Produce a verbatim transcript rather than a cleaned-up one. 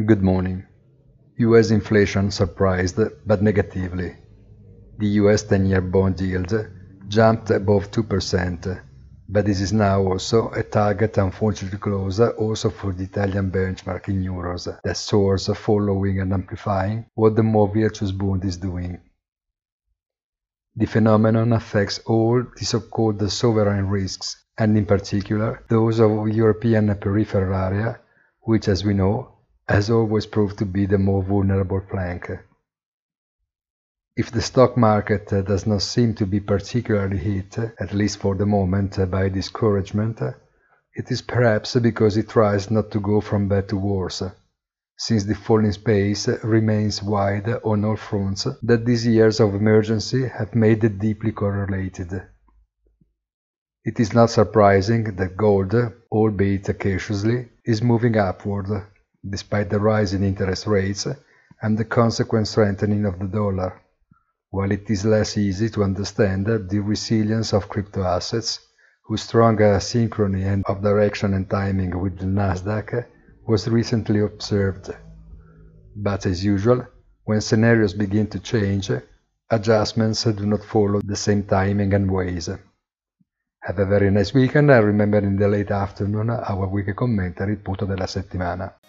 Good morning. U S inflation surprised, but negatively. The U S ten-year bond yield jumped above two percent, but this is now also a target unfortunately close also for the Italian benchmark in euros that soars following and amplifying what the more virtuous Bund is doing. The phenomenon affects all the so-called sovereign risks, and in particular those of European peripheral area, which, as we know, has always proved to be the more vulnerable flank. If the stock market does not seem to be particularly hit, at least for the moment, by discouragement, it is perhaps because it tries not to go from bad to worse, since the falling space remains wide on all fronts that these years of emergency have made deeply correlated. It is not surprising that gold, albeit cautiously, is moving upward, despite the rise in interest rates and the consequent strengthening of the dollar, while it is less easy to understand the resilience of crypto assets, whose strong synchrony of direction and timing with the Nasdaq was recently observed. But as usual, when scenarios begin to change, adjustments do not follow the same timing and ways. Have a very nice weekend, and remember in the late afternoon our weekly commentary, il punto della settimana.